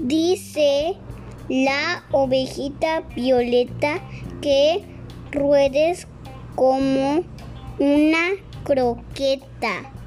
Dice la ovejita Violeta que ruedes como una croqueta.